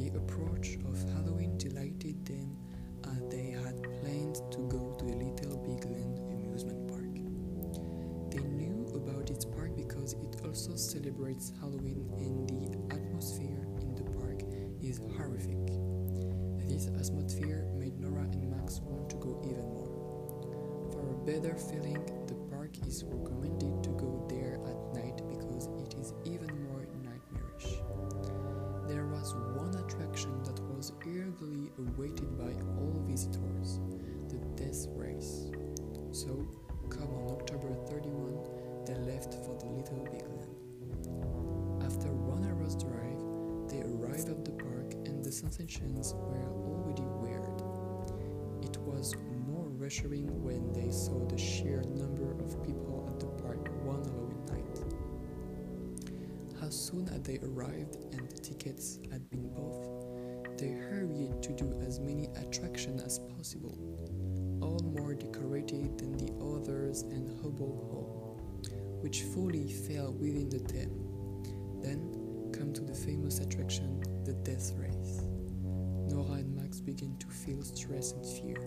The approach of Halloween delighted them as they had planned to go to the Little Big Land amusement park. They knew about this park because it also celebrates Halloween and the atmosphere in the park is horrific. This atmosphere made Nora and Max want to go even more. For a better feeling, the park is recommended to go there at night because it is even more nightmarish. There was one attraction that was eagerly awaited by all visitors, the Death Race. So, come on October 31, they left for the Little Big Land. After 1 hour's drive, they arrived at the park and the sensations were already weird. It was more reassuring when they saw the sheer number of people at the park one Halloween night. As soon as they arrived and the tickets had been bought, they hurried to do as many attractions as possible, all more decorated than the others and Hubble Hall, which fully fell within the theme. Then come to the famous attraction, the Death Race. Nora and Max began to feel stress and fear.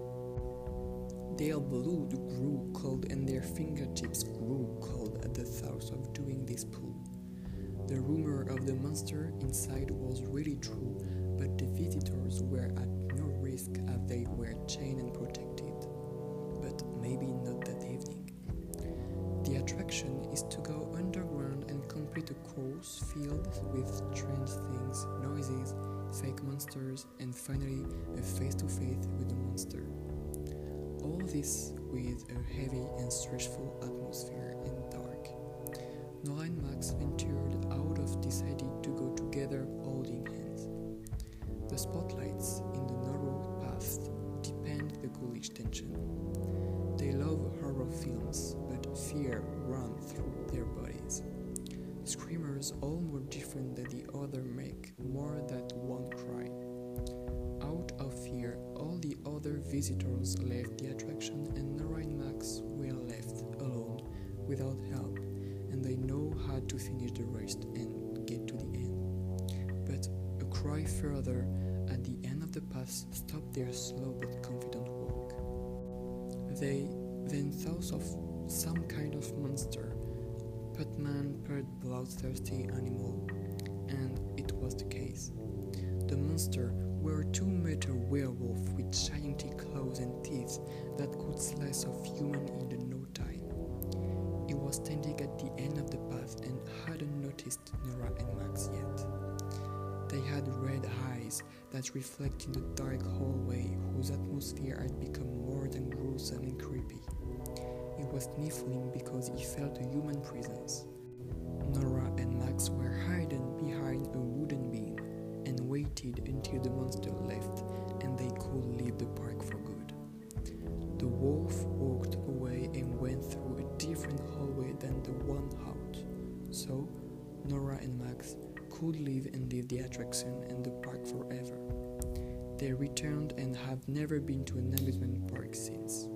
Their blood grew cold and their fingertips grew cold at the thought of doing this pull. The rumor of the monster inside was really true, but the visitors were at no risk as they were chained and protected. But maybe not that evening. The attraction is to go underground and complete a course filled with strange things, noises, fake monsters, and finally a face-to-face with the monster. All this with a heavy and stressful atmosphere and dark. Nora and Max ventured out of decided to go together holding hands. The spotlights in the narrow path deepened the ghoulish tension. They love horror films, but fear ran through their bodies. Screamers, all more different than the other, make more than one cry. Out of fear, all the other visitors left the attraction and Nora and Max were left alone without help, and they know how to finish the race and get to the end. But a cry further at the end of the path stopped their slow but confident walk. They then thought of some kind of monster, Putman, bloodthirsty animal, and it was the case. The monster were a 2-meter werewolf with gigantic claws and teeth that could slice off human in no time. It was standing at the end of the path and hadn't noticed Nora and Max yet. They had red eyes that reflected the dark hallway whose atmosphere had become more than gruesome and creepy. It was sniffling because he felt a human presence. Nora and Max were hidden behind a wooden beam and waited until the monster left and they could leave the park for good. The wolf walked away and went through a different hallway than the one out. So, Nora and Max could leave and leave the attraction and the park forever. They returned and have never been to an amusement park since.